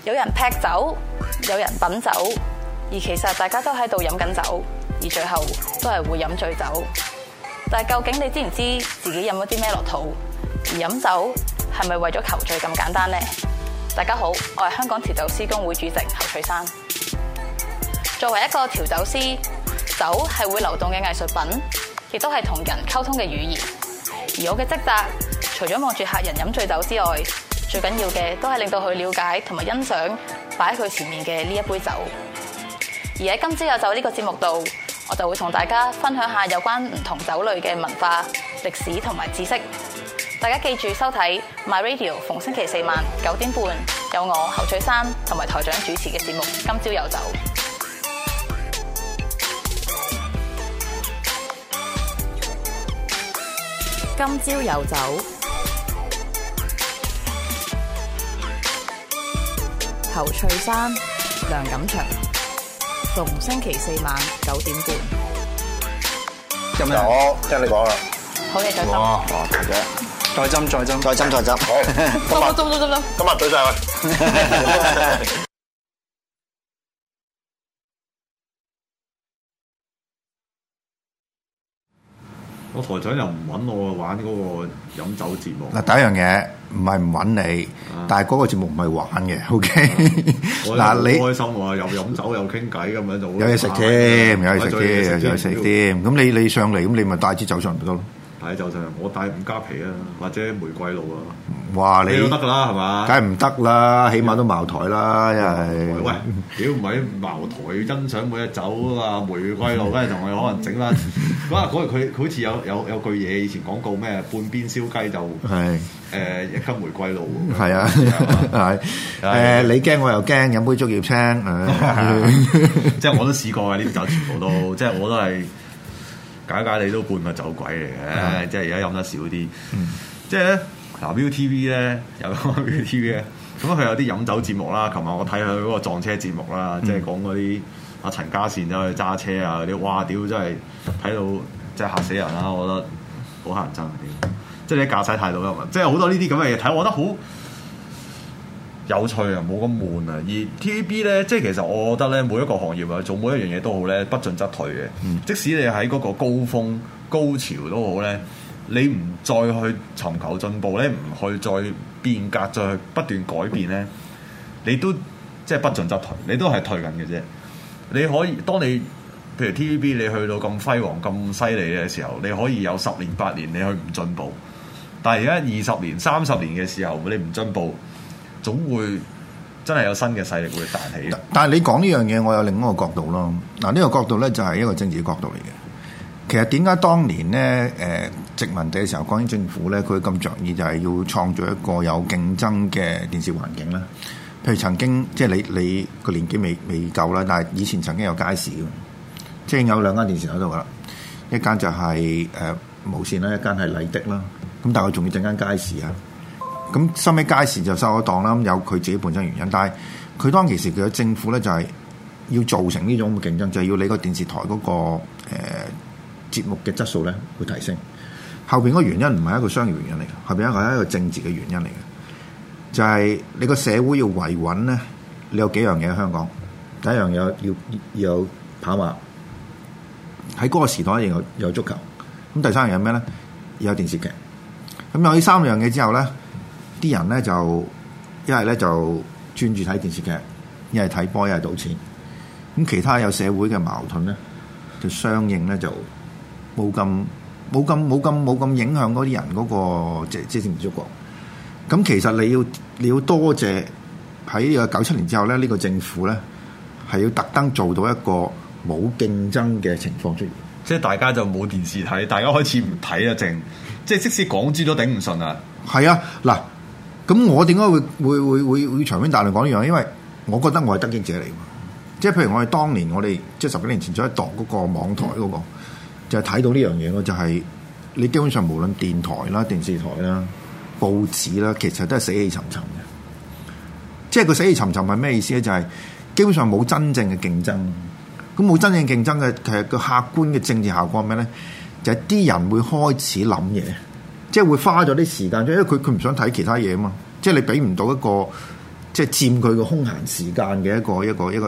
有人劈酒，有人品酒，而其實大家都喺度飲緊酒，而最後都係會飲醉酒。但係究竟你知唔知自己飲咗啲咩落肚？而飲酒係咪為咗求醉咁簡單呢？大家好，我係香港調酒師公會主席侯翠珊。作為一個調酒師，酒係會流動嘅藝術品，亦都係同人溝通嘅語言。而我嘅職責，除咗望住客人飲醉酒之外，最緊要嘅都係令到佢了解同埋欣賞擺喺佢前面嘅呢一杯酒。而喺今朝有酒呢個節目度，我就會同大家分享下有關唔同酒類嘅文化、歷史同埋知識。大家記住收睇 My Radio， 逢星期四晚9點半有我侯翠珊同埋台長主持嘅節目《今朝有酒》。今朝有酒，侯翠珊、梁錦祥，逢星期四晚9點半。 今日我聽你講啦。 好嘢，再斟。 哇，大姐，再斟。好，今日對晒佢。 我台長又唔揾我玩嗰個飲酒節目。 嗱，第一樣嘢唔係唔揾你，但係嗰個節目唔係玩嘅，OK？嗱，你開心喎，又飲酒又傾偈咁樣就有嘢食添，有嘢食添。咁你上嚟，咁你咪帶支酒上嚟咪得咯。 帶酒上嚟，我帶五加皮啊，或者玫瑰露啊。 哇！你都得㗎啦，係嘛？ 梗係唔得啦，起碼都茅台啦，因為喂，屌唔係茅台欣賞每隻酒啊，玫瑰露，跟住同佢可能整翻嗰日佢好似有句嘢以前廣告咩半邊燒雞就係一斤玫瑰露。 係啊，係你驚我又驚，飲杯竹葉青， 即係我都試過嘅呢啲酒全部都，即係我都係假你都半個酒鬼嚟嘅，即係而家飲得少啲，即係咧。嗱 ViuTV 咧有個 ViuTV 咧，咁佢有啲飲酒節目啦。琴日我睇佢嗰個撞車節目啦，即係講嗰啲阿陳家善走去揸車啊嗰啲，哇！屌真係睇到真係嚇死人啦！我覺得好乞人憎嘅，即係你駕駛態度有問題，即係好多呢啲咁嘅嘢睇，我覺得好有趣啊，冇咁悶啊。而 TVB 咧，即係其實我覺得咧，每一個行業啊，做每一樣嘢都好咧，不進則退嘅。即使你喺嗰個高峰高潮都好咧。你唔再去尋求進步咧，唔去再變革，再去不斷改變咧，你都即係不進則退，你都係退緊嘅啫。你可以當你譬如 TVB 你去到咁輝煌咁犀利嘅時候，你可以有10年8年你去唔進步，但係而家20年30年嘅時候，你唔進步，總會真係有新嘅勢力會彈起。 但係你講呢樣嘢，我有另一個角度咯。嗱，呢個角度咧就係一個政治角度嚟嘅。其實點解當年咧殖民地嘅時候，港英政府咧佢咁着意就係要創造一個有競爭嘅電視環境啦。譬如曾經即係你個年紀未夠啦，但係以前曾經有街市嘅，即係有兩間電視喺度噶啦，一間就係無線啦，一間係麗的啦。咁但係佢仲要整間街市啊。咁收尾街市就收咗檔啦，咁有佢自己本身原因。但係佢當其時佢嘅政府咧就係要造成呢種競爭，就係要你個電視台嗰個節目嘅質素咧會提升，後邊嗰個原因唔係一個商業原因嚟嘅，後邊係一個政治嘅原因嚟嘅，就係你個社會要維穩咧，你有幾樣嘢喺香港，第一樣嘢要有跑馬，喺嗰個時代有足球，咁第三樣嘢咩咧？有電視劇，咁有呢三樣嘢之後咧，啲人咧就一係咧就專注睇電視劇，一係睇波，一係賭錢，咁其他有社會嘅矛盾咧，就相應咧就冇咁影響嗰啲人嗰個即係政治觸覺。咁其實你要多謝喺呢個97年之後咧，呢個政府咧係要特登做到一個冇競爭嘅情況出現， 即係大家就冇電視睇，大家開始唔睇啊，即係即使港豬都頂唔順啊。 係啊，嗱，咁我點解會長篇大論講呢樣？因為我覺得我係得益者嚟㗎。即係譬如我哋當年我哋即係10幾年前做一檔嗰個網台嗰個。就係睇到呢樣嘢咯，就係你基本上無論電台啦、電視台啦、報紙啦，其實都係死氣沉沉嘅。即係個死氣沉沉係咩意思咧？就係基本上冇真正嘅競爭。咁冇真正競爭嘅，其實個客觀嘅政治效果係咩咧？就係啲人會開始諗嘢，即係會花咗啲時間，因為佢唔想睇其他嘢啊嘛。即係你俾唔到一個即係佔佢個空閒時間嘅一個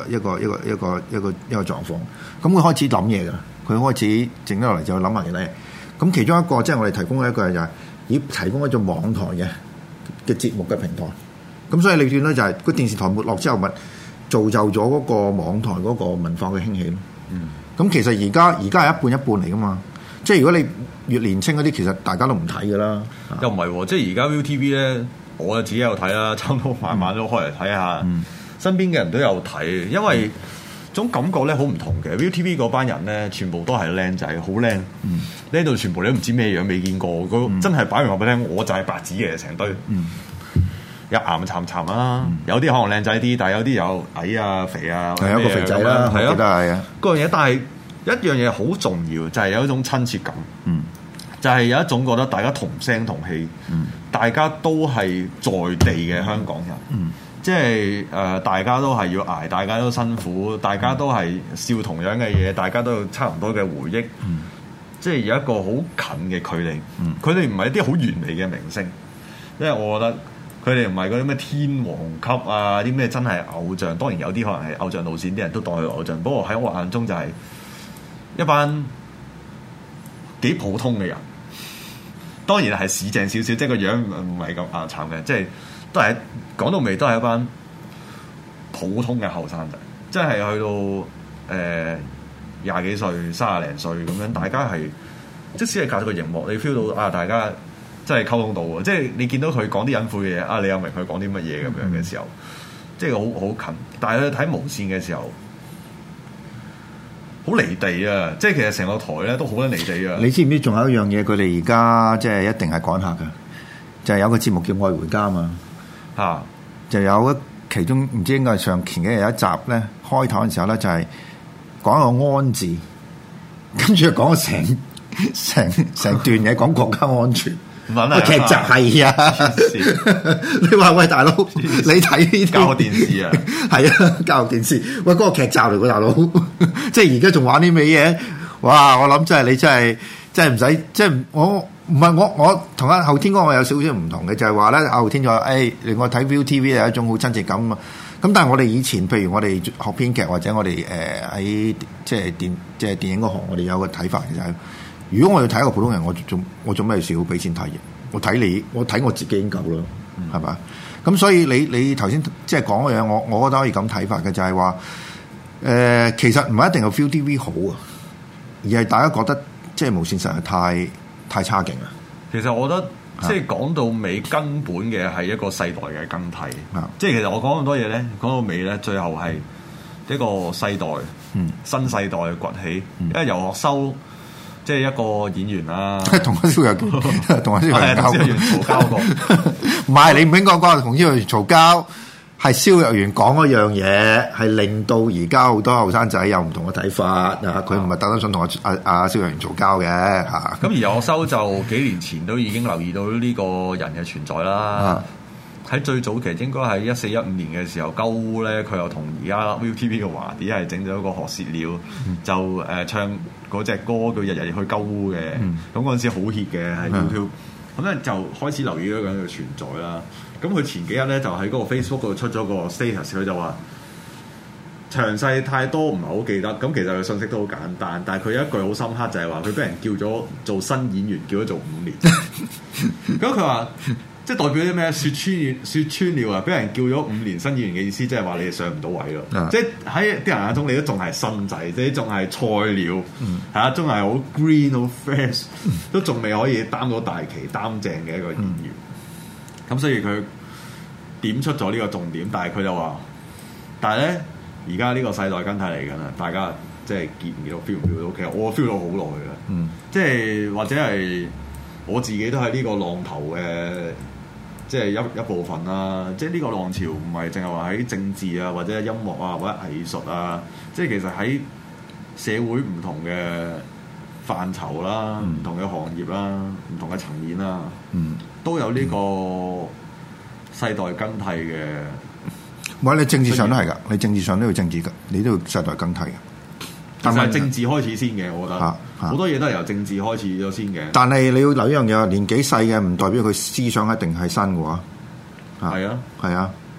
狀況。咁佢開始諗嘢㗎，佢開始靜得落嚟就諗埋其他嘢。咁其中一個即係我哋提供一個就係提供一種網台嘅節目嘅平台。咁所以你見到就係個電視台沒落之後，咪造就咗嗰個網台嗰個文化嘅興起咯。咁其實而家係一半一半嚟噶嘛。即係如果你越年青嗰啲，其實大家都唔睇噶啦。 又唔係喎，即係而家 ViuTV 咧，我自己有睇啦，差唔多晚晚都開嚟睇下。身邊嘅人都有睇，因為種感覺咧好唔同嘅。ViuTV 嗰班人咧，全部都係靚仔，好靚。呢度全部你都唔知咩樣，未見過。真係擺明話俾你聽，我就係白紙嘅成堆。有岩沉沉啦，有啲可能靚仔啲，但係有啲有矮啊、肥啊， 係一個肥仔啦，係啊， 嗰樣嘢。但係一樣嘢好重要，就係有一種親切感。就係有一種覺得大家同聲同氣，大家都係在地嘅香港人。即係大家都係要捱，大家都辛苦，大家都係笑同樣嘅嘢，大家都有差唔多嘅回憶。即係有一個好近嘅距離。佢哋唔係一啲好完美嘅明星，因為我覺得。佢哋唔係嗰啲咩天王級啊，啲咩真係偶像。當然有啲可能係偶像路線，啲人都當佢偶像。不過喺我眼中就係一班幾普通嘅人。當然係市正少少，即係個樣唔係咁慘嘅，即係都係講到尾都係一班普通嘅後生仔。即係去到20幾歲、30零歲咁樣，大家係即使係隔咗個熒幕，你 feel 到啊，大家。真係溝通到喎，即係你見到佢講啲隱晦嘅嘢，啊你又明佢講啲乜嘢咁樣嘅時候，即係好近。但係你睇無線嘅時候，好離地啊！即係其實成個台咧都好撚離地啊！ 你知唔知仲有一樣嘢？佢哋而家即係一定係趕客嘅，就係有個節目叫《愛回家》嘛。就有一其中唔知應該係前幾日有一集咧，開頭嘅時候咧就係講個安字，跟住講成段嘢講國家安全。個劇集係啊！你話喂大佬，你睇呢啲教育電視啊？ 係啊，教育電視。喂，嗰個劇集嚟㗎大佬，即係而家仲玩啲咩嘢？哇！我諗真係你真係唔使，即係我唔係我同阿後天嗰個有少少唔同嘅，就係話咧，後天就話令我睇 ViuTV 有一種好親切感啊！咁但係我哋以前，譬如我哋學編劇或者我哋喺即係電影嗰行，我哋有個睇法嘅就係。如果我要睇一個普通人，我做咩事要俾錢睇嘅？我睇我自己已經夠啦，係嘛？咁所以你頭先即係講嘅嘢，我覺得可以咁睇法嘅，就係話其實唔係一定係 ViuTV 好啊，而係大家覺得即係無線實在太差勁啦。 其實我覺得即係講到尾根本嘅係一個世代嘅更替。即係其實我講咁多嘢咧，講到尾咧，最後係一個世代，新世代嘅崛起。因為游學修。即係一個演員啦， 同阿蕭若元嘈交過， 唔係你唔應該講同蕭若元嘈交，係蕭若元講嗰樣嘢，係令到而家好多後生仔有唔同嘅睇法啊！佢唔係特登想同阿蕭若元嘈交嘅嚇。 咁而游學修就幾年前都已經留意到呢個人嘅存在啦。喺最早期應該係14、15年嘅時候，鳩烏咧佢又同而家 ViuTV 嘅華啲係整咗一個學舌鳥，就唱嗰隻歌叫日日去鳩烏嘅。咁嗰陣時好 hit 嘅喺 YouTube，咁咧就開始留意咗咁嘅存在啦。咁佢前幾日咧就喺嗰個 Facebook 度出咗個 status，佢就話詳細太多唔係好記得。咁其實佢信息都好簡單，但係佢有一句好深刻就係話佢俾人叫咗做新演員，叫咗做5年。咁佢話。即係代表啲咩？説穿了啊！俾人叫咗5年新演員嘅意思，即係話你哋上唔到位咯。即係喺啲人眼中，你都仲係新仔，即係仲係菜鳥，係啊，仲係好 green 好 fresh，都仲未可以擔到大旗擔正嘅一個演員。咁所以佢點出咗呢個重點，但係佢就話：但係咧，而家呢個世代更替嚟緊啦，大家即係見唔見到 feel 唔 feel 到？其實我 feel 到好耐㗎，即係或者係我自己都係呢個浪頭嘅。即係一部分啦，即係呢個浪潮唔係淨係話喺政治啊，或者音樂啊，或者藝術啊，即係其實喺社會唔同嘅範疇啦、唔同嘅行業啦、唔同嘅層面啦，都有呢個世代更替嘅。 唔係你政治上都係㗎，你政治上都要政治㗎，你都要世代更替㗎。 但係政治開始先嘅，我覺得好多嘢都係由政治開始咗先嘅。 但係你要留一樣嘢，年紀細嘅唔代表佢思想一定係新嘅喎。 係啊， 係啊，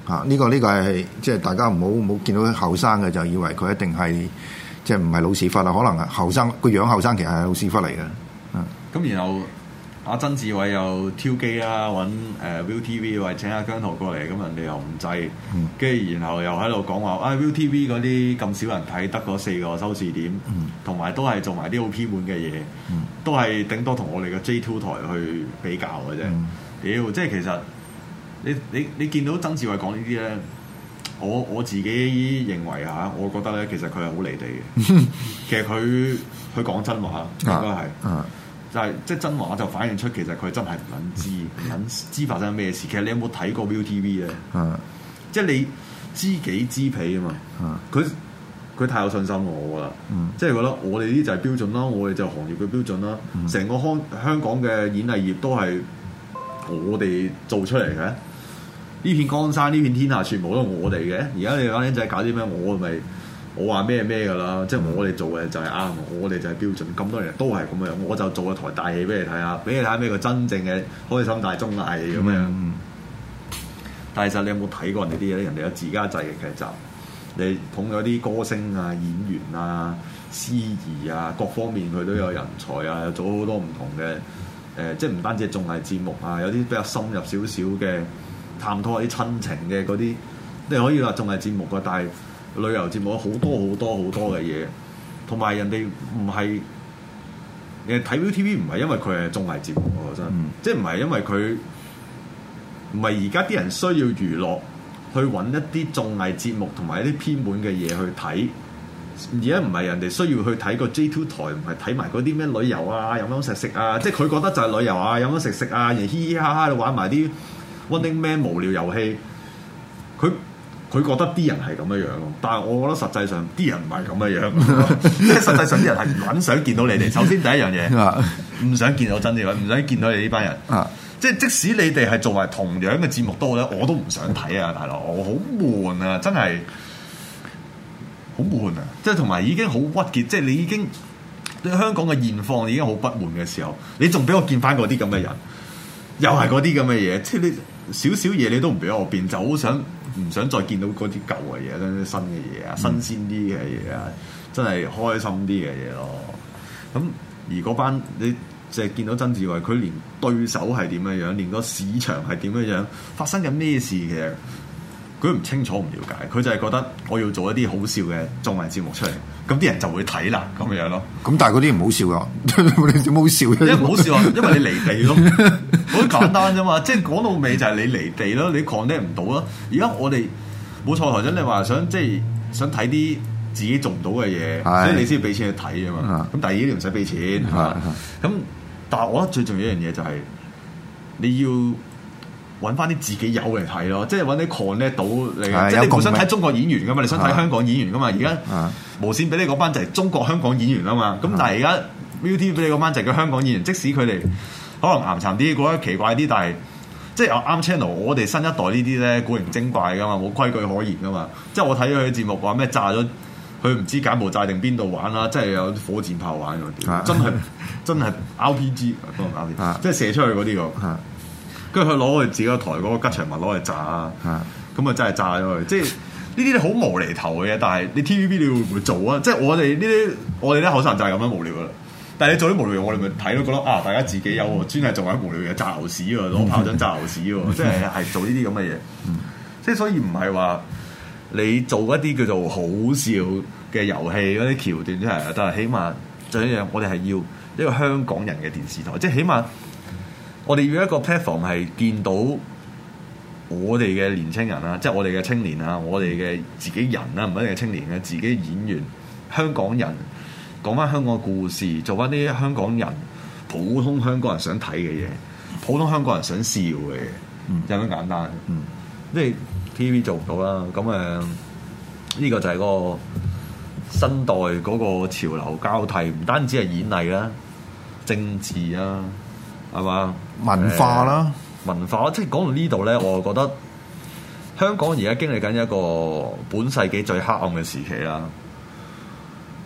嚇，呢個係即係大家唔好見到後生嘅就以為佢一定係即係唔係老屎忽啦，可能後生個樣後生其實係老屎忽嚟嘅。 咁然後阿曾志偉又挑機啦，揾ViuTV 話請阿姜濤過嚟，咁人哋又唔制，跟住然後又喺度講話ViuTV 嗰啲咁少人睇，得嗰4個收視點，同埋都係做埋啲好偏門嘅嘢，都係頂多同我哋嘅 J2 台去比較嘅啫。屌，即係其實你見到曾志偉講呢啲咧，我自己認為嚇，我覺得咧其實佢係好離地嘅。其實佢講真話應該係。就係即係真話，就反映出其實佢真係唔撚知發生咩事。其實你有冇睇過 ViuTV 咧？即係你知己知彼啊嘛。佢太有信心喎，我覺得。即係覺得我哋呢啲就係標準啦，我哋就係行業嘅標準啦。成個香港嘅演藝業都係我哋做出嚟嘅。呢片江山，呢片天下，全部都係我哋嘅。而家你講僆仔搞啲咩？我話咩㗎啦，即係我哋做嘅就係啱，我哋就係標準。咁多人都係咁樣，我就做個台大戲俾你睇下，俾你睇下咩叫真正嘅開心大綜藝咁樣。但係其實你有冇睇過人哋啲嘢咧？人哋有自家製嘅劇集，你捧咗啲歌星啊、演員啊、司儀啊，各方面佢都有人才啊，又做好多唔同嘅即係唔單止係綜藝節目啊，有啲比較深入少少嘅探討一啲親情嘅嗰啲，你可以話綜藝節目㗎，但係旅遊節目好多嘅嘢，同埋人哋唔係睇 ViuTV 唔係因為佢係綜藝節目喎，真即係唔係因為佢唔係而家啲人需要娛樂去揾一啲綜藝節目同埋一啲偏門嘅嘢去睇，而家唔係人哋需要去睇個 J2 台，唔係睇埋嗰啲咩旅遊啊、飲飲食食啊，即係佢覺得就係旅遊啊、飲飲食食啊，而嘻嘻哈哈玩埋啲 Running Man 無聊遊戲，佢覺得啲人係咁樣樣咯，但係我覺得實際上啲人唔係咁樣樣，即係實際上啲人係唔撚想見到你哋。首先第一樣嘢，唔想見到曾志偉，唔想見到你呢班人。即係即使你哋係做埋同樣嘅節目都好咧，我都唔想睇啊，大佬，我好悶啊，真係好悶啊！即係同埋已經好鬱結，即係你已經對香港嘅現況已經好不滿嘅時候，你仲俾我見翻嗰啲咁嘅人，又係嗰啲咁嘅嘢，即係你少少嘢你都唔俾我變，就好唔想再見到嗰啲舊嘅嘢，啲新嘅嘢啊，新鮮啲嘅嘢啊，真係開心啲嘅嘢咯。咁而嗰班你淨係見到曾志偉，佢連對手係點樣樣，連個市場係點樣樣，發生緊咩事嘅，佢唔清楚唔了解，佢就係覺得我要做一啲好笑嘅綜藝節目出嚟，咁啲人就會睇啦，咁樣咯。 咁但係嗰啲唔好笑噶，你點好笑？ 因為唔好笑啊，因為你離地咯，好簡單啫嘛。即係講到尾就係你離地咯，你 connect 唔到咯。而家我哋冇錯，台長你話想想睇啲自己做唔到嘅嘢，所以你先要俾錢去睇啊嘛。咁第二啲唔使俾錢，咁但係我覺得最重要一樣嘢就係你要揾翻啲自己有嚟睇咯，即係揾啲 connect 到你，即係你唔想睇中國演員噶嘛，你想睇香港演員噶嘛。而家無線俾你嗰班就係中國香港演員啊嘛。咁但係而家 ViuTV 俾你嗰班就係叫香港演員，即使佢哋可能岩殘啲，覺得奇怪啲，但係即係啱 channel。我哋新一代呢啲咧古靈精怪噶嘛，冇規矩可言噶嘛。即係我睇佢嘅節目話咩炸咗，佢唔知柬埔寨定邊度玩啦，即係有火箭炮玩嗰啲，真係 RPG，即係射出去嗰啲個。跟住佢攞佢自己個台嗰個吉祥物攞嚟炸啊！咁啊真係炸咗佢，即係呢啲好無厘頭嘅嘢。但係你 TVB 你會唔會做啊？即係我哋啲後生人就係咁樣無聊噶啦。但係你做啲無聊嘢，我哋咪睇咯，覺得大家自己有喎，專係做緊無聊嘢，炸牛屎喎，攞炮仗炸牛屎喎，即係做呢啲咁嘅嘢。即係所以唔係話你做一啲叫做好笑嘅遊戲嗰啲橋段出嚟，但係起碼就一樣，我哋係要一個香港人嘅電視台，即係起碼。我哋要一個 platform 係見到我哋嘅年青人啊，即係我哋嘅青年啊，我哋嘅自己人啊，唔一定係青年嘅自己演員，香港人講翻香港嘅故事，做翻啲香港人普通香港人想睇嘅嘢，普通香港人想笑嘅嘢，就咁簡單。即係 TV 做唔到啦，咁呢個就係嗰個新代嗰個潮流交替，唔單止係演藝啦，政治啊。係嘛？ 文化啦， 文化即係講到呢度咧，我覺得香港而家經歷緊一個本世紀最黑暗嘅時期啦，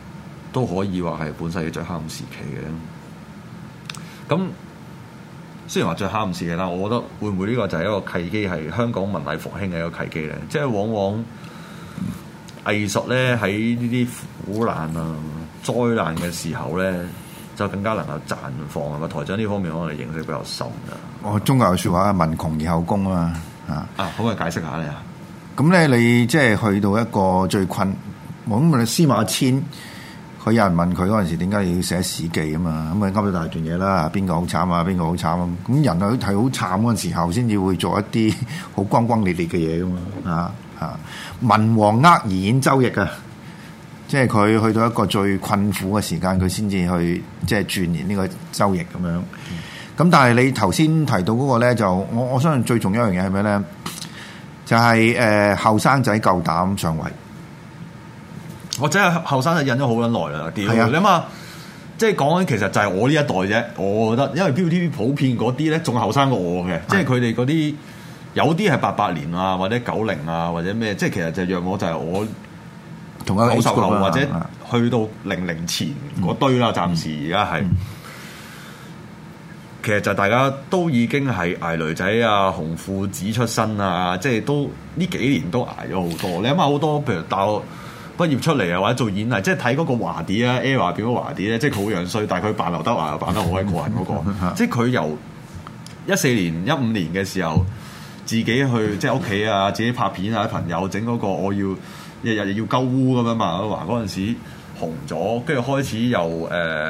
都可以話係本世紀最黑暗時期嘅。咁雖然話最蝦唔是嘅，但我覺得會唔會呢個就係一個契機，係香港文藝復興嘅一個契機咧？即係往往藝術咧喺呢啲苦難啊、災難嘅時候咧，就更加能夠綻放啊！台長呢方面可能認識比較深啊。 我中國有説話民窮而後工啊嘛可唔可以解釋下你啊？ 咁咧你即係去到一個最困，我諗你司馬遷，佢有人問佢嗰陣時點解要寫史記啊嘛？咁啊噏咗大段嘢啦，邊個好慘啊？邊個好慘啊？咁人啊係好慘嗰陣時候，先至會做一啲好轟轟烈烈嘅嘢噶嘛文王而演周易啊！即係佢去到一個最困苦嘅時間，佢先至去即係鑽研呢個周易咁樣。咁但係你頭先提到嗰個咧，就我相信最重要一樣嘢係咩咧？就係後生仔夠膽上位。 我真係後生仔忍咗好撚耐啦，屌！你諗下，即係講緊其實就係我呢一代啫。我覺得，因為 ViuTV 普遍嗰啲咧仲後生過我嘅，即係佢哋嗰啲有啲係88年啊，或者90啊，或者咩，即係其實就約我就係我同一個 90後或者去到00前嗰堆啦。暫時而家係，其實就大家都已經係捱女仔啊、紅褲子出身啊，即係都呢幾年都捱咗好多。你諗下好多，譬如大學畢業出嚟啊，或者做演藝，即係睇嗰個華啲啊 ，ERROR 變咗華啲咧，即係佢好樣衰，但係佢扮劉德華又扮得好鬼過癮嗰個，即係佢由14年、15年嘅時候，自己去即係屋企啊，自己拍片啊，朋友整嗰個我要日日要鳩污咁樣嘛，劉德華嗰陣時紅咗，跟住開始又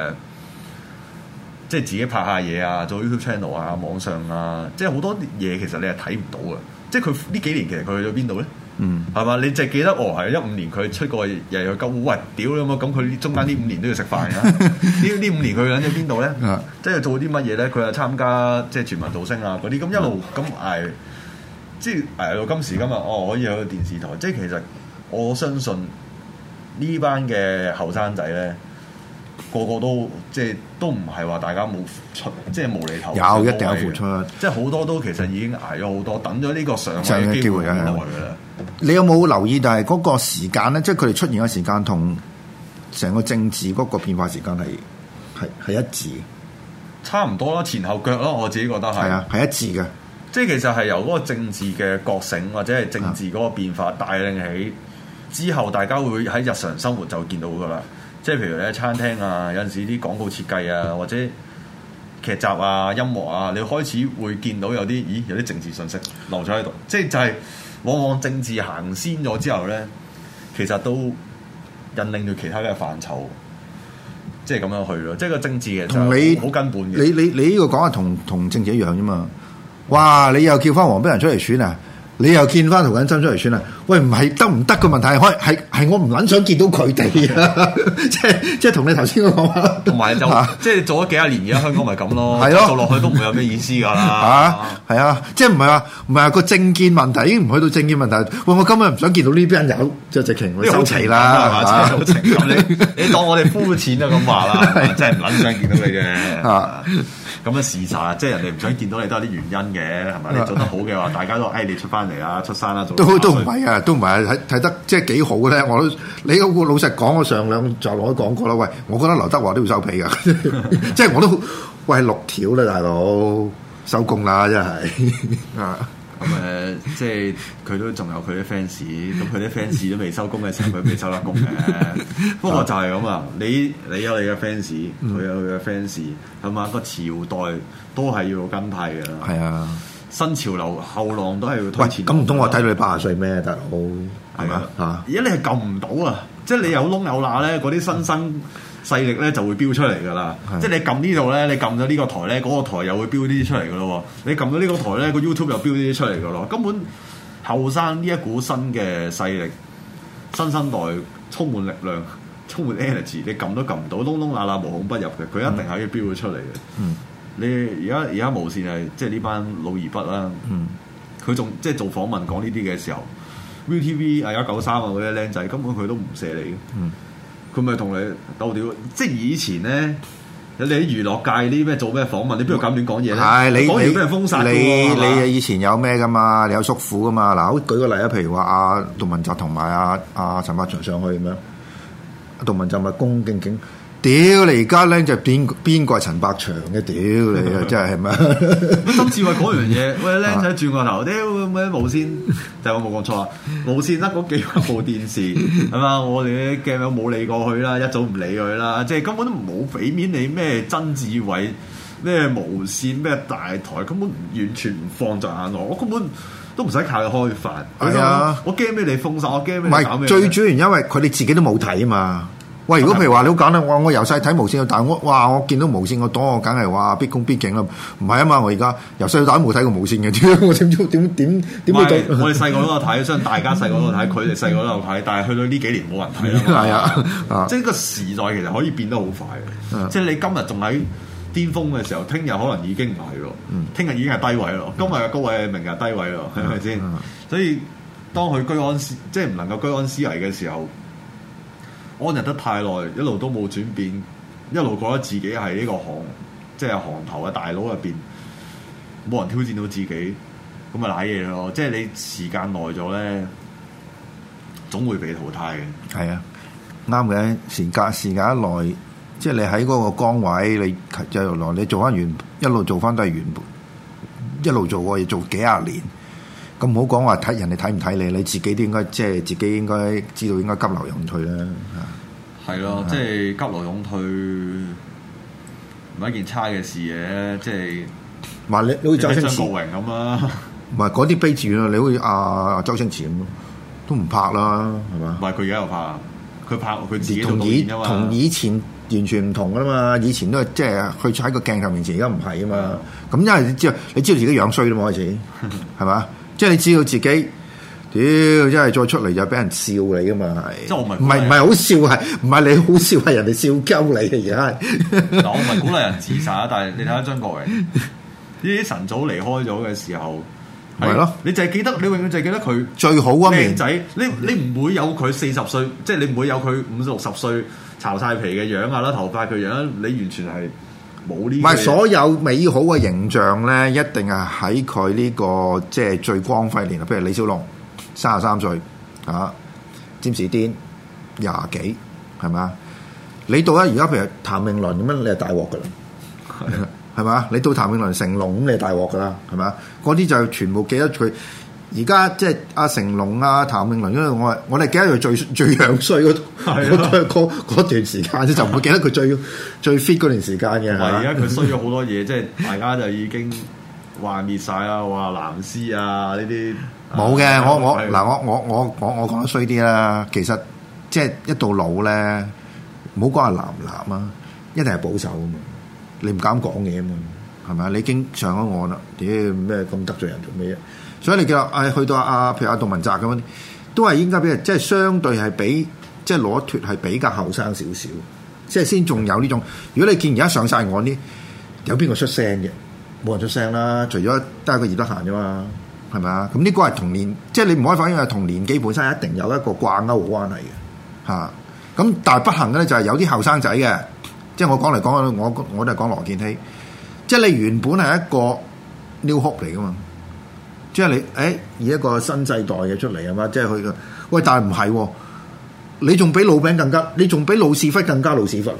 即係自己拍下嘢啊，做 YouTube channel 啊，網上啊，即係好多嘢其實你係睇唔到嘅，即係佢呢幾年其實佢去咗邊度咧？係嘛？你就記得係15年佢出過日日去鳩污，喂屌咁啊！咁佢中間呢5年都要食飯㗎。呢5年佢喺咗邊度咧？即係做啲乜嘢咧？佢又參加即係全民造星啊嗰啲，咁一路咁捱，即係捱到今時今日可以去到電視台。即係其實我相信呢班嘅後生仔咧，個個都即係都唔係話大家冇付出，即係無厘頭。有一定有付出，即係好多都其實已經捱咗好多，等咗呢個上位嘅機會好耐㗎啦。 你有冇留意？但係嗰個時間咧，即係佢哋出現嘅時間同成個政治嗰個變化時間係一致， 差唔多啦，前後腳咯，我自己覺得係。係啊， 係一致嘅。 即係其實係由嗰個政治嘅覺醒或者係政治嗰個變化帶領起之後，大家會喺日常生活就見到㗎啦。即係譬如你喺餐廳啊，有陣時啲廣告設計啊，或者劇集啊、音樂啊，你開始會見到有啲政治信息留咗喺度。即係就係往往政治行先咗之後咧，其實都引領住其他嘅範疇，即係咁樣去咯。即係個政治嘅同你好根本嘅。 你呢個講係同政治一樣啫嘛。哇！你又叫翻黃碧雲出嚟選啊？你又見翻涂謹申出嚟選啊？喂，唔係得唔得嘅問題，係我唔撚想見到佢哋啊！即係同你頭先講話， 同埋就即係做咗幾廿年，而家香港咪咁咯，係咯，做落去都唔會有咩意思㗎啦。 係啊，即係唔係話個政見問題已經唔去到政見問題。喂，我今日唔想見到呢邊有就直情收齊啦，係嘛？ 好情感，你當我哋膚淺啊咁話啦，真係唔撚想見到你嘅。咁嘅事實，即係人哋唔想見到你都有啲原因嘅，係咪？你做得好嘅話，大家都你出翻嚟啦，出山啦， 都唔係啊，都唔係啊，睇得即係幾好嘅咧。你老實講，我上兩集我都講過啦。喂，我覺得劉德華都要收皮㗎，即係我都喂6條啦，大佬收工啦，真係啊！ 咁即係佢都仲有佢啲 fans，咁佢啲 fans 都未收工嘅時候，佢未收得工嘅。不過就係咁啊，你有你嘅 fans，佢有佢嘅 fans，係嘛？個朝代都係要跟派嘅啦。 係啊， 新潮流後浪都係要推前。 咁唔通我睇到你80歲咩，大佬？係嘛？ 而家你係撳唔到啊！即係你有窿有罅咧，嗰啲新生勢力咧就會飆出嚟㗎啦，即係你撳呢度咧，你撳咗呢個台咧，嗰個台又會飆呢啲出嚟㗎咯喎。你撳咗呢個台咧，個 YouTube 又飆呢啲出嚟㗎咯。根本後生呢一股新嘅勢力，新生代充滿力量、充滿 energy，你撳都撳唔到，窿窿罅罅無孔不入嘅，佢一定係要飆咗出嚟嘅。你而家無線係即係呢班老而不啦，佢仲即係做訪問講呢啲嘅時候 ，ViuTV 193啊嗰啲僆仔根本佢都唔射你嘅。佢咪同你鬥屌，即係以前咧，你喺娛樂界啲咩做咩訪問，你邊度敢亂講嘢咧？ 係你講完俾人封殺你以前有咩噶嘛？你有叔父噶嘛？嗱，好舉個例啊，譬如話阿杜汶澤同埋阿陳百祥上去咁樣，杜汶澤咪恭恭敬敬， 屌你而家僆就邊個係陳百祥嘅？屌你啊，真係係咪？ 曾志偉講樣嘢，喂僆仔轉個頭，屌咩無線？就我冇講錯啊！無線得嗰幾部電視係嘛？我哋啲鏡友冇理過佢啦，一早唔理佢啦，即係根本都冇俾面你咩曾志偉咩無線咩大台，根本完全唔放在眼內，我根本都唔使靠佢開飯。係啊，我驚俾你封殺，我驚俾你搞咩？ 最主要因為佢哋自己都冇睇啊嘛。喂，如果譬如話你好簡單，我由細睇無線，但係我見到無線個檔，我梗係話必恭必敬啦。唔係啊嘛，我而家由細到大都冇睇過無線嘅，我點會到？ 我哋細個都有睇，相信大家細個都有睇，佢哋細個都有睇，但係去到呢幾年冇人睇啦。係啊，即係呢個時代其實可以變得好快嘅。即係你今日仲喺巔峰嘅時候，聽日可能已經唔係咯，聽日已經係低位咯，今日嘅高位，明日低位咯，係咪先？所以當佢居安思，即係唔能夠居安思危嘅時候。安逸得太耐，一路都冇轉變，一路覺得自己係呢個即係行頭嘅大佬入邊，冇人挑戰到自己，咁咪瀨嘢咯。即係你時間耐咗咧，總會被淘汰嘅。係啊， 啱嘅。時間一耐，即係你喺嗰個崗位，你就來你做翻原，一路做翻都係原本，一路做過嘢做幾廿年。咁唔好講話睇人哋睇唔睇你，你自己都應該即係自己應該知道應該急流勇退啦。 係咯，即係急流勇退唔係一件差嘅事嘅，即係話你好似周星馳張國榮咁啦， 唔係嗰啲悲劇咯，你好似阿周星馳咁咯，都唔拍啦，係嘛？ 唔係佢而家又拍，佢拍佢自己同以前完全唔同噶啦嘛，以前都係即係佢喺個鏡頭面前，而家唔係啊嘛。咁因為你知道自己樣衰啦嘛，開始係嘛？即係你知道自己，屌，真係再出嚟就俾人笑你噶嘛，係。即係我唔係好笑，係唔係你好笑，係人哋笑鳩你嘅而家。 嗱，我唔係鼓勵人自殺，但係你睇下張國榮，呢啲晨早離開咗嘅時候，係咯，你就係記得，你永遠就係記得佢最好嗰面靚仔。你唔會有佢40歲，即係你唔會有佢50、60歲巢晒皮嘅樣啊啦，頭髮嘅樣，你完全係。唔係所有美好嘅形象咧，一定係喺佢呢個即係最光輝年。譬如李小龍33歲啊，詹士甸20幾，係咪？你到咧而家譬如譚詠麟咁樣，你係大鑊噶啦，係嘛？你到譚詠麟、成龍咁，你係大鑊噶啦，係嘛？嗰啲就全部記得佢。而家即係阿成龍啊、譚詠麟，因為我哋記得佢最樣衰嗰段時間，就唔會記得佢最 fit 嗰段時間嘅。 而家佢衰咗好多嘢，即係大家就已經幻滅晒啦。話藍絲啊呢啲冇嘅，我講得衰啲啦。其實即係一到老咧，唔好講係藍唔藍啊，一定係保守啊嘛。你唔敢講嘢啊嘛，係咪？你已經上咗岸啦，屌咩咁得罪人做咩嘢？所以你叫去到譬如杜汶澤咁樣，都係應該俾人即係相對係比即係攞脫係比較後生少少，即係先仲有呢種。如果你見而家上晒岸啲，有邊個出聲嘅？冇人出聲啦，除咗得一個葉德嫻啫嘛，係咪啊？咁呢個係同年，即係你唔可以反映係同年紀本身一定有一個掛鈎嘅關係嘅嚇。咁但係不幸嘅咧就係有啲後生仔嘅，即係我講嚟講去，我都係講羅健熙，即係你原本係一個 new hope 嚟噶嘛。即係你，以一個新世代嘅出嚟啊嘛，即係佢嘅。喂，但係唔係喎，你仲比老餅更加，你仲比老屎忽更加老屎忽。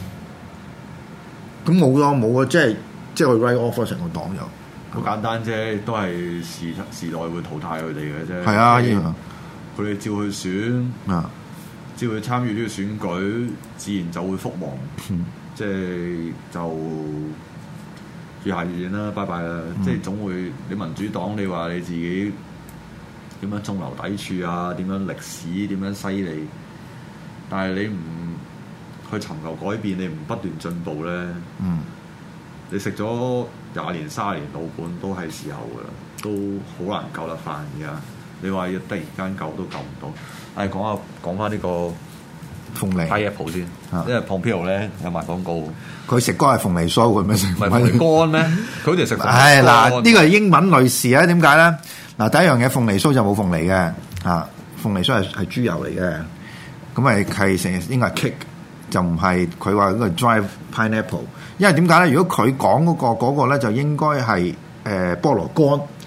咁冇咯，冇啊，即係去 write off 成個黨友。 好簡單啫，都係時代會淘汰佢哋嘅啫。 係啊， 佢哋照去選啊，照去參與呢個選舉，自然就會覆亡。即係就。越下越遠啦，拜拜啦！即係總會你民主黨，你話你自己點樣中流砥柱啊？點樣歷史點樣犀利？但係你唔去尋求改變，你唔不斷進步咧，你食咗20年、30年老本都係時候噶啦，都好難救得翻而家。你話要突然間救都救唔到。講翻呢個鳳梨 pineapple 先，因為 Pompeo 咧有賣廣告， 佢食乾係鳳梨酥，佢咩食？ 唔係鳳梨乾咩？佢好似食。 係嗱，呢個係英文類似啊？點解咧？嗱，第一樣嘢鳳梨酥就冇鳳梨嘅，鳳梨酥係豬油嚟嘅，咁係成日應該係 cake，就唔係佢話嗰個 dry pineapple。因為點解咧？如果佢講嗰個咧，就應該係菠蘿乾，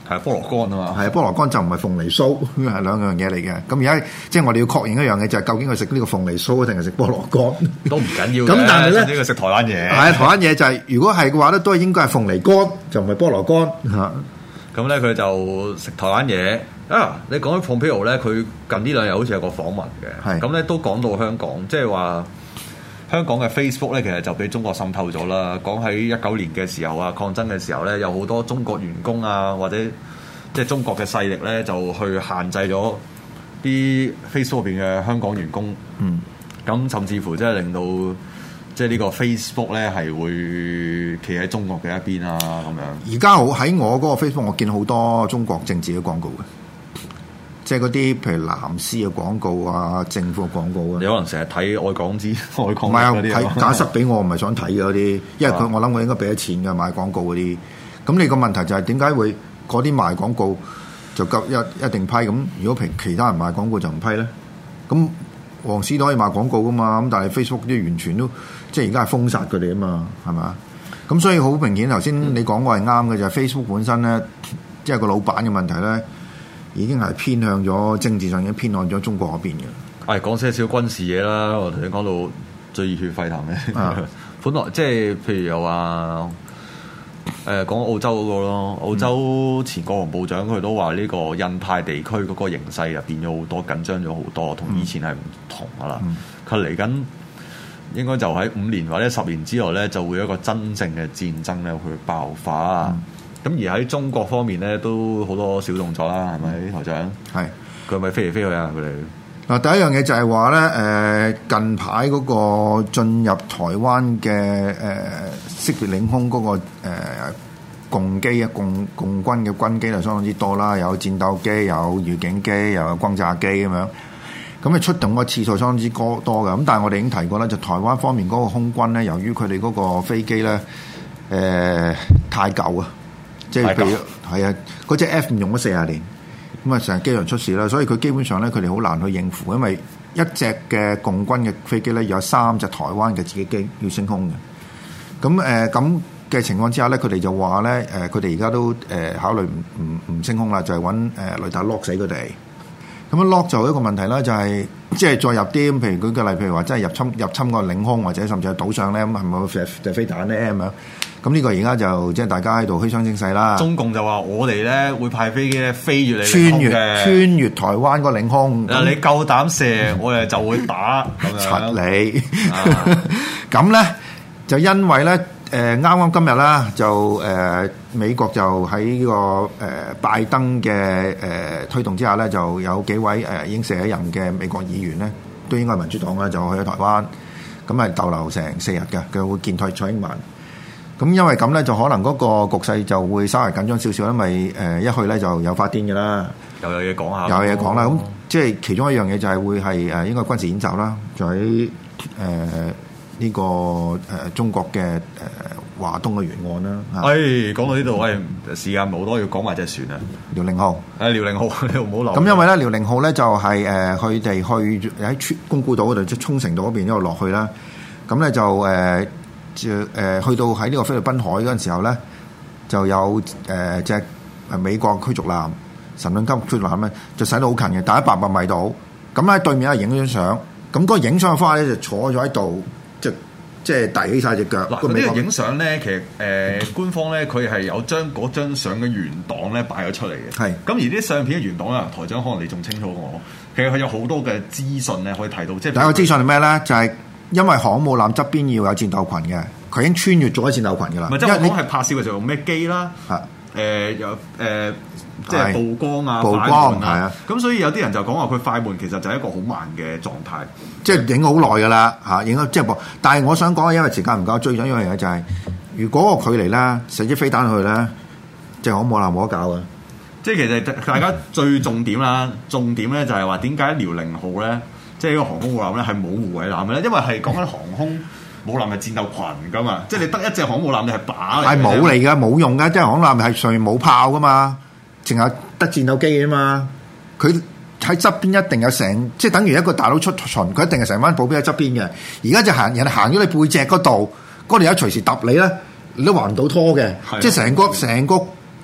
係菠蘿乾啊嘛， 係菠蘿乾就唔係鳳梨酥，係兩樣嘢嚟嘅。咁而家即係我哋要確認一樣嘢，就係究竟佢食呢個鳳梨酥定係食菠蘿乾都唔緊要嘅。 咁但係咧， 呢個食台灣嘢， 係啊，台灣嘢就係、如果係嘅話咧，都係應該係鳳梨乾，就唔係菠蘿乾嚇。 咁咧佢就食台灣嘢啊！你講起 Pompeo 咧，佢近呢兩日好似有個訪問嘅，咁咧都講到香港，即係話香港嘅 Facebook 咧，其實就俾中國滲透咗啦。講喺19年嘅時候啊，抗爭嘅時候咧，有好多中國員工啊，或者即係中國嘅勢力咧，就去限制咗啲 Facebook 入邊嘅香港員工。咁甚至乎即係令到即係呢個 Facebook 咧係會企喺中國嘅一邊啊咁樣。 而家好喺我嗰個 Facebook，我見好多中國政治嘅廣告嘅。即係嗰啲譬如藍絲嘅廣告啊，政府嘅廣告啊， 你可能成日睇愛港資、愛港唔係啊， 嗰啲睇假塞俾我，唔係想睇嘅嗰啲，因為我諗我應該俾咗錢嘅買廣告嗰啲。咁你個問題就係點解會嗰啲賣廣告就夠一定批？咁如果其他人賣廣告就唔批咧？咁黃絲都可以賣廣告噶嘛？咁但係 Facebook 啲完全都即係而家係封殺佢哋啊嘛，係嘛？咁所以好明顯頭先你講過係啱嘅，就係 Facebook 本身咧，即係個老闆嘅問題咧。已經係偏向咗政治上，已經偏向咗中國嗰邊嘅。 講些少軍事嘢啦，我頭先講到最熱血沸騰嘅。本來即係譬如又話講澳洲嗰個咯，澳洲前國防部長佢都話呢個印太地區嗰個形勢又變咗好多，緊張咗好多，同以前係唔同噶啦。佢嚟緊應該就喺5年或者10年之內咧，就會有一個真正嘅戰爭咧去爆發。咁而喺中國方面咧，都好多小動作啦，係咪台長？係佢係咪飛嚟飛去啊？佢哋嗱，第一樣嘢就係話咧，近排嗰個進入台灣嘅識別領空嗰個共機啊，共軍嘅軍機就相當之多啦，有戰鬥機，有預警機，又有轟炸機咁樣。咁啊出動個次數相當之多嘅。咁但係我哋已經提過啦，就台灣方面嗰個空軍咧，由於佢哋嗰個飛機咧太舊啊。即係譬如係啊，嗰隻 F 用咗40年，咁啊成日機場出事啦，所以佢基本上咧佢哋好難去應付，因為一隻嘅共軍嘅飛機咧有3隻台灣嘅自己機要升空嘅。咁嘅情況之下咧，佢哋就話咧佢哋而家都考慮唔升空啦，就係揾雷達 lock 死佢哋。咁樣 lock 就一個問題啦，就係即係再入啲，譬如舉個例，譬如話真係入侵個領空或者甚至係島上咧，咁係咪會射飛彈咧咁樣？咁呢個而家就即係大家喺度虛張聲勢啦。 中共就話我哋咧會派飛機咧飛越你穿越台灣個領空。 你夠膽射，我哋就會打咁樣。 柒你咁咧就因為咧啱啱今日啦，就美國就喺呢個拜登嘅推動之下咧，就有幾位已經卸咗任嘅美國議員咧，都應該係民主黨啦，就去咗台灣，咁係逗留成4日嘅，佢會見蔡英文。咁因為咁咧，就可能嗰個局勢就會稍為緊張少少，因為一去咧就有發癲嘅啦， 又有嘢講下， 有嘢講啦。咁即係其中一樣嘢就係會係應該軍事演習啦，就喺呢個中國嘅華東嘅沿岸啦。 講到呢度，時間冇多，要講埋隻船啊， 遼寧號。遼寧號，你唔好漏。 咁因為咧，遼寧號咧就係佢哋去喺宮古島嗰度，即係沖繩島嗰邊一路落去啦。咁咧就去到喺呢個菲律賓海嗰陣時候咧，就有隻美國驅逐艦神盾級驅逐艦咧，就駛到好近嘅，大概100米度。咁喺對面係影咗張相，咁嗰個影相嘅方法咧就坐咗喺度，即係遞起晒隻腳。 嗱，呢個影相咧，其實官方咧佢係有將嗰張相嘅原檔咧擺咗出嚟嘅。係。咁而啲相片嘅原檔啊，台長可能你仲清楚過我。其實佢有好多嘅資訊咧可以睇到，即係第一個資訊係咩咧？就係因為航母艦側邊要有戰鬥群嘅，佢已經穿越咗戰鬥群㗎啦。唔係，即係我係拍攝嘅時候用咩機啦？有即係曝光啊，曝光係啊。咁所以有啲人就講話佢快門其實就係一個好慢嘅狀態， 即係影好耐㗎啦嚇，影咗即係但係我想講，因為時間唔夠，追咗一樣嘢就係，如果個距離咧射支飛彈去咧，即係航母艦冇得搞嘅。 即係其實大家最重點啦，重點咧就係話點解遼寧號咧，即係呢個航空母艦咧係冇護衛艦嘅咧？因為係講緊航空母艦係戰鬥群噶嘛，即係你得一隻航母艦你係靶嚟，係冇嚟㗎，冇用㗎，即係航母艦係上面冇炮噶嘛，淨係得戰鬥機啊嘛，佢喺側邊一定有成，即係等於一個大佬出巡，佢一定係成班保鏢喺側邊嘅。而家就人行咗你背脊嗰度，嗰度有隨時揼你咧，你都還唔到拖嘅，即係成個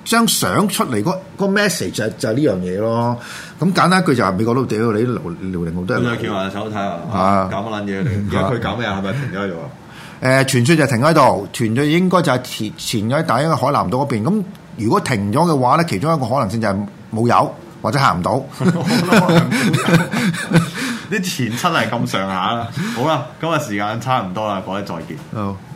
張相出嚟個 message 就係呢樣嘢咯。咁簡單一句就係美國佬屌你啲遼寧號都係。 咁就叫埋手睇下，搞乜撚嘢嚟？而家佢搞咩啊？係咪停咗喺度啊？ 傳説就停喺度，傳説應該就係前咗喺大英海南島嗰邊。咁如果停咗嘅話咧，其中一個可能性就係冇油或者行唔到。 啲前七係咁上下啦。好啦，今日時間差唔多啦，各位再見。 好。